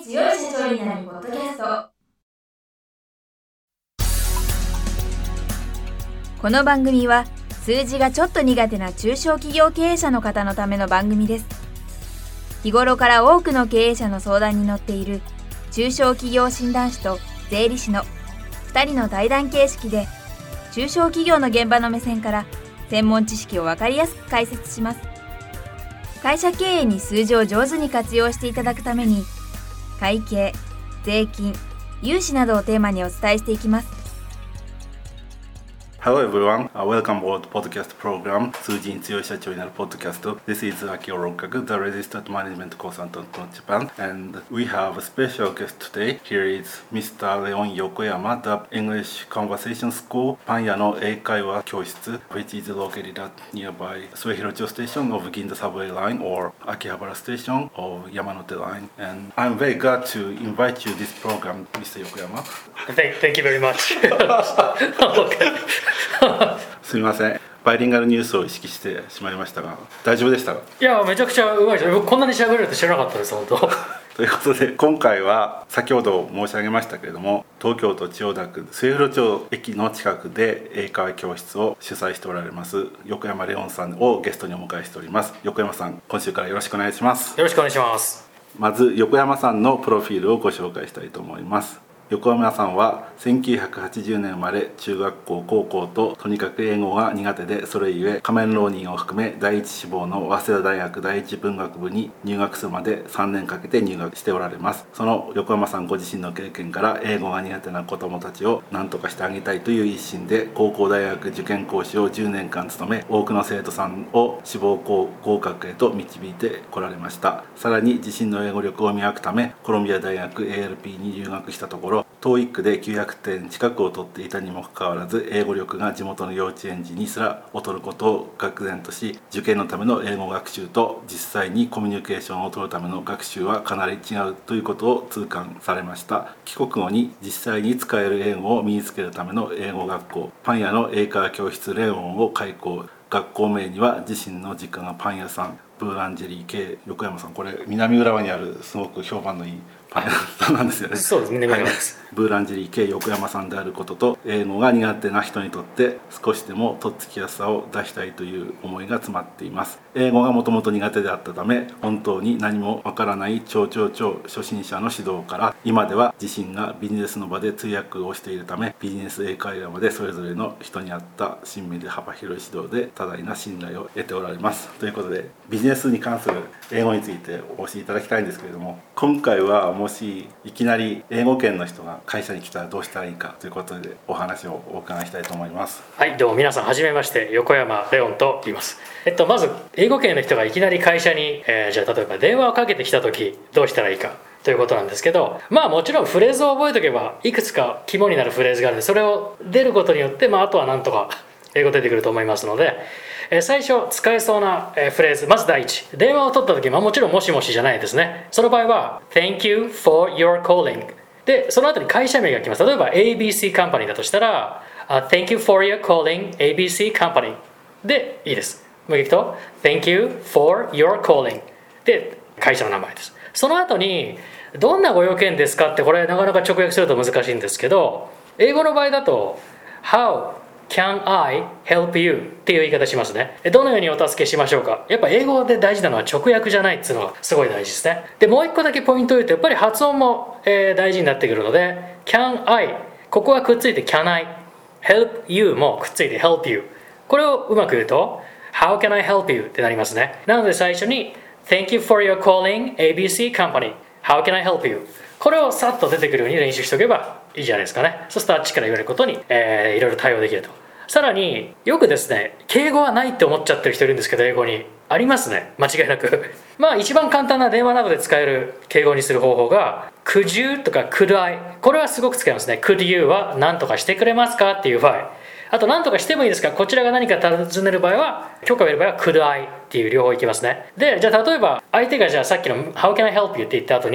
強い社長になるポッドキャスト。この番組は数字がちょっと苦手な中小企業経営者の方のための番組です。日頃から多くの経営者の相談に乗っている中小企業診断士と税理士の2人の対談形式で、中小企業の現場の目線から専門知識を分かりやすく解説します。会社経営に数字を上手に活用していただくために、会計、税金、融資などをテーマにお伝えしていきます。 Hello everyone, welcome aboard the podcast program 数字に強い社長になるポッドキャスト。 This is Akio Rokaku, the registered management consultant from Japan, and we have a special guest today. Here is Mr. Leon Yokoyama, the English Conversation School パン屋の英会話教室 which is located at nearby Suehirocho station of Ginza subway line or Akihabara station of Yamanote line. And I'm very glad to invite you this program, Mr. Yokoyama. Thank you very much. すみません、バイリンガルニュースを意識してしまいましたが、大丈夫でしたか？ いや、めちゃくちゃうまいです。僕こんなに喋れると知らなかったです、本当。 ということで、今回は先ほど申し上げましたけれども、東京都千代田区末広町駅の近くで英会話教室を主催しておられます横山レオンさんをゲストにお迎えしております。横山さん、今週からよろしくお願いします。 よろしくお願いします。 まず横山さんのプロフィールをご紹介したいと思います。横山さんは1980年生まれ、中学校高校ととにかく英語が苦手で、それゆえ仮面浪人を含め第一志望の早稲田大学第一文学部に入学するまで3年かけて入学しておられます。その横山さんご自身の経験から、英語が苦手な子どもたちを何とかしてあげたいという一心で高校大学受験講師を10年間務め、多くの生徒さんを志望校合格へと導いてこられました。さらに自身の英語力を磨くためコロンビア大学 ALP に留学したところ、TOEIC で900点近くを取っていたにもかかわらず、英語力が地元の幼稚園児にすら劣ることを愕然とし、受験のための英語学習と実際にコミュニケーションを取るための学習はかなり違うということを痛感されました。帰国後に実際に使える英語を身につけるための英語学校パン屋の英会話教室レオンを開校。学校名には自身の実家がパン屋さんブーランジェリー系。横山さん、これ南浦和にあるすごく評判のいいパン屋さんなんですよね。 そうです、南浦和です。 ブーランジェリー系横山さんであることと、英語が苦手な人にとって少しでもとっつきやすさを出したいという思いが詰まっています。英語がもともと苦手であったため、本当に何もわからない超初心者の指導から、今では自身がビジネスの場で通訳をしているため、ビジネス英会話までそれぞれの人に合った親身で幅広い指導で多大な信頼を得ておられます。ということで、ビジネスに関する英語についてお教えいただきたいんですけれども、今回はもしいきなり英語圏の人が会社に来たらどうしたらいいかということでお話をお伺いしたいと思います。 はい、どうも皆さんはじめまして、横山レオンと言います。まず英語圏の人がいきなり会社に、じゃあ例えば電話をかけてきた時どうしたらいいかということなんですけど、もちろんフレーズを覚えておけばいくつか肝になるフレーズがあるので、それを出ることによって、あとはなんとか英語出てくると思いますので、最初使えそうなフレーズ、まず第一、電話を取った時、もちろんもしもしじゃないですね。その場合は Thank you for your calling で、その後に会社名が来ます。例えば ABC カンパニーだとしたら、Thank you for your calling ABC カンパニーでいいです。もう一回言うと Thank you for your calling で会社の名前です。その後にどんなご用件ですかって、これなかなか直訳すると難しいんですけど、英語の場合だと How can I help you っていう言い方しますね。どのようにお助けしましょうか。やっぱ英語で大事なのは直訳じゃないっていうのがすごい大事ですね。で、もう一個だけポイントを言うと、やっぱり発音も大事になってくるので、 can I ここはくっついて can I help you もくっついて help you、 これをうまく言うと How can I help you ってなりますね。なので最初に Thank you for your calling ABC company How can I help you、 これをさっと出てくるように練習しておけばいいじゃないですかね。そうするとあっちから言われることに、いろいろ対応できると。さらによくですね、敬語はないって思っちゃってる人いるんですけど、英語にありますね、間違いなく。一番簡単な電話などで使える敬語にする方法が Could you とか Could I、 これはすごく使いますね。 Could you は何とかしてくれますかっていう場合、あと何とかしてもいいですが、こちらが何か尋ねる場合は、許可を得る場合は Could I っていう両方いきますね。で、じゃあ例えば相手がじゃあさっきの How can I help you って言った後に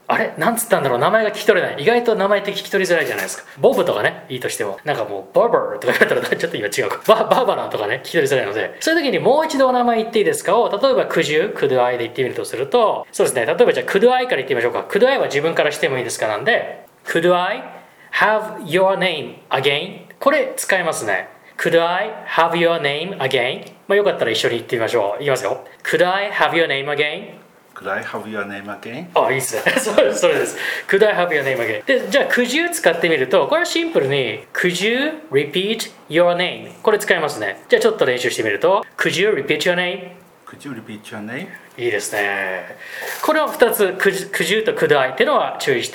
あれなんつったんだろう、名前が聞き取れない。意外と名前って聞き取りづらいじゃないですか。ボブとかねいいとしても、なんかもうバーバーとか言われたらちょっと今違うか、バーバラとかね聞き取りづらいので、そういう時にもう一度お名前言っていいですかを、例えばcould you could I で言ってみるとすると、そうですね、例えばじゃあcould I から言ってみましょうか。could I は自分からしてもいいですかなんで、could I have your name again、 これ使えますね。could I have your name again、 まあよかったら一緒に言ってみましょう。いきますよ。could I have your name again。Could I have your name again? あ、いいですね。それです。Could I have your name again? で、じゃあ Could you 使ってみると、これはシンプルに Could you repeat your name? これ使いますね。じゃあちょっと練習してみると Could you repeat your name?Could you repeat your name? いいですね。これを2つ Could you と Could I っていうのは注意して、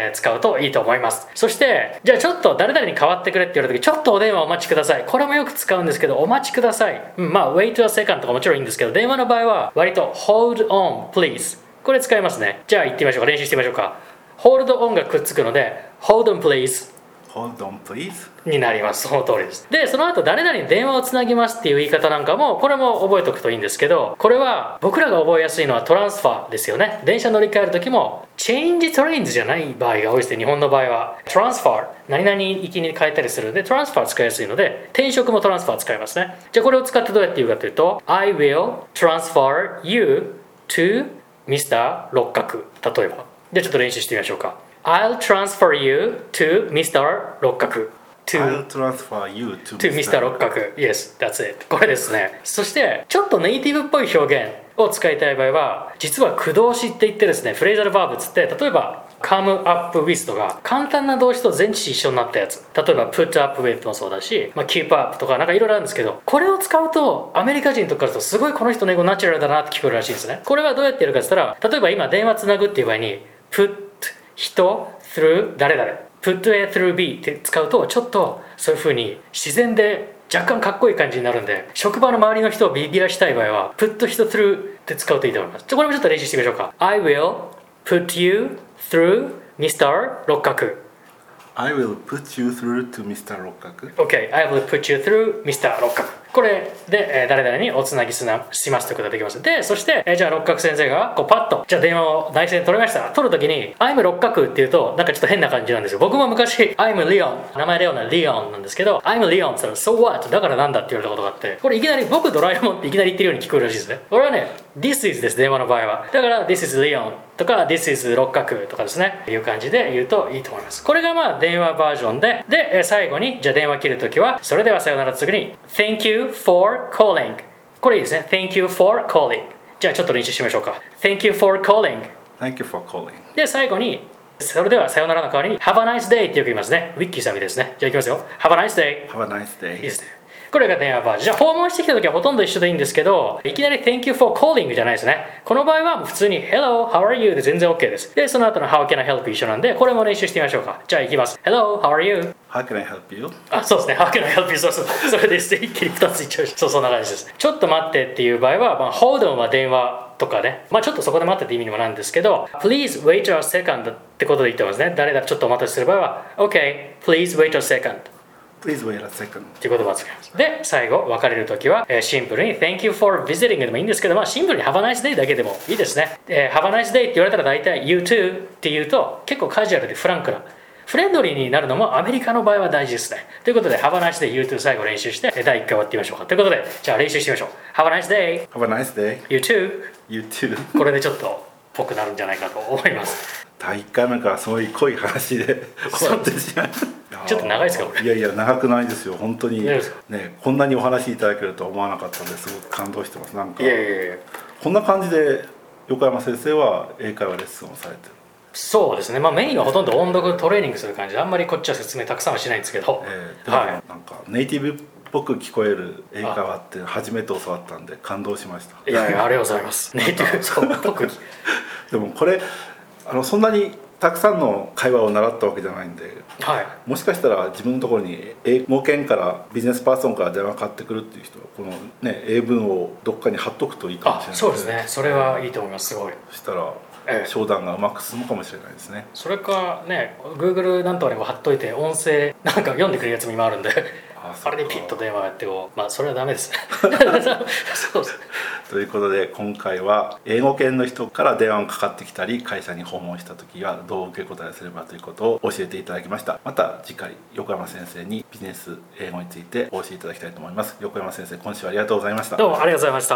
使うといいと思います。そしてじゃあちょっと誰々に代わってくれって言われた時、ちょっとお電話お待ちください。これもよく使うんですけど、お待ちください、まあ Wait a second とかもちろんいいんですけど、電話の場合は割と Hold on please、 これ使いますね。じゃあ言ってみましょうか。練習してみましょうか。 Hold on がくっつくので Hold on please、Hold on please になります。その通りです。で、その後誰々に電話をつなぎますっていう言い方なんかも、これも覚えておくといいんですけど、これは僕らが覚えやすいのはトランスファーですよね。電車乗り換える時もチェンジトレインズじゃない場合が多いですね。日本の場合はトランスファー、何々行きに変えたりするのでトランスファー使いやすいので、転職もトランスファー使いますね。じゃあこれを使ってどうやって言うかというと I will transfer you to Mr. 六角、例えば。じゃあちょっと練習してみましょうか。I'll transfer you to Mr. 六角。 I'll transfer you to Mr. 六角。Yes, that's it。これですね。そしてちょっとネイティブっぽい表現を使いたい場合は、実は駆動詞って言ってですね、フレーザルバーブつって、例えばcome up with とか簡単な動詞と前置詞一緒になったやつ、例えば put up with もそうだし、keep up とかなんかいろいろあるんですけど、これを使うとアメリカ人とかだとすごいこの人の英語ナチュラルだなって聞こえるらしいんですね。これはどうやってやるかって言ったら、例えば今電話つなぐっていう場合に put 人 through 誰々、put A through B って使うと、ちょっとそういう風に自然で若干かっこいい感じになるんで、職場の周りの人をビビらしたい場合は put 人 through って使うといいと思います。これもちょっと練習してみましょうか。 I will put you through Mr. 六角。 I will put you through to Mr. 六角。 OK、 I will put you through Mr. 六角。これで、誰々におつなぎしますということができます。で、そして、じゃあ六角先生がこうパッと、じゃあ電話を内線取りました。取るときに I'm 六角っていうとなんかちょっと変な感じなんですよ。僕も昔 I'm Leon、 名前レオンなリオンなんですけど、 I'm Leon って言ったら So what だからなんだって言われたことがあって、これいきなり僕ドラえもんっていきなり言ってるように聞こえるらしいですね。これはね This is です、電話の場合は。だから This is Leon とか This is 六角とかですね、いう感じで言うといいと思います。これがまあ電話バージョンで、最後にじゃあ電話切るときは、それではさよなら次に Thank you for calling。これいいですね。 Thank you for calling。 じゃあちょっと練習しましょうか。 Thank you for calling。 Thank you for calling。 で最後にそれではさよならの代わりに Have a nice day ってよく言いますね。ウィッキーさんみたいですね。じゃあいきますよ。 Have a nice day。 Have a nice day。 いいですね。これが電話バージョン。じゃあ訪問してきた時はほとんど一緒でいいんですけど、いきなり Thank you for calling じゃないですね。この場合は普通に Hello, how are you で全然 OK です。でその後の How can I help you 一緒なんで、これも練習してみましょうか。じゃあいきます。 Hello, how are you? How can I help you? あ、そうですね。How can I help you? そうそれですね。一気に2ついっちゃうし、そんな感じです。ちょっと待ってっていう場合は、Hold on は電話とかね、ちょっとそこで待ってって意味にもなるんですけど、 Please wait a second ってことで言ってますね。誰々ちょっとお待たせする場合は OK, please wait a second。Please wait a second っていう言葉を使います。で、最後、別れるときは、シンプルに Thank you for visiting でもいいんですけど、シンプルに Have a nice day だけでもいいですね。Have a nice day って言われたら大体 You too って言うと結構カジュアルでフランクな、フレンドリーになるのもアメリカの場合は大事ですね。ということで Have a nice day You too 最後練習して第1回終わってみましょうか。ということで、じゃあ練習してみましょう。Have a nice day Have a nice day You too You too これでちょっとぽくなるんじゃないかと思います。 第1回目からそういう濃い話で終わってしまう。 ちょっと長いですかこれ。 いやいや長くないですよ本当にね。こんなにお話いただけるとは思わなかったのですごく感動してます。なんかこんな感じで横山先生は英会話レッスンをされてる。 そうですね、メインはほとんど音読トレーニングする感じで、あんまりこっちは説明たくさんはしないんですけど、 なんかネイティブっぽく聞こえる英会話って初めて教わったんで感動しました。 いやいやありがとうございます。ネイティブそうっぽくでもこれそんなにたくさんの会話を習ったわけじゃないんで、もしかしたら自分のところに英語圏からビジネスパーソンから電話かかってくるっていう人はこのね英文をどっかに貼っとくといいかもしれない。 そうですね、それはいいと思います。すごい。 そしたら商談がうまく進むかもしれないですね。 それかね Google なんとかにも貼っといて音声なんか読んでくれるやつも今あるんであれでピッと電話やってもそれはダメですね。そうです。 ということで今回は英語圏の人から電話がかかってきたり会社に訪問した時はどう受け答えすればということを教えていただきました。また次回横山先生にビジネス英語についてお教えいただきたいと思います。横山先生、今週はありがとうございました。 どうもありがとうございました。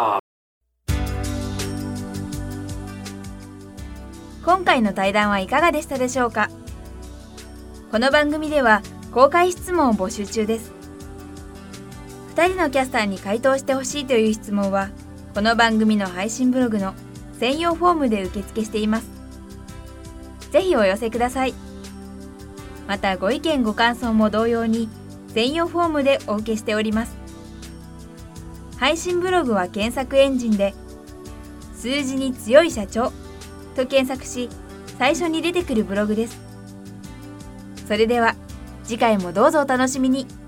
今回の対談はいかがでしたでしょうか。この番組では公開質問を募集中です。2人のキャスターに回答してほしいという質問はこの番組の配信ブログの専用フォームで受付しています。ぜひお寄せください。またご意見ご感想も同様に専用フォームでお受けしております。配信ブログは検索エンジンで数字に強い社長と検索し最初に出てくるブログです。それでは次回もどうぞお楽しみに。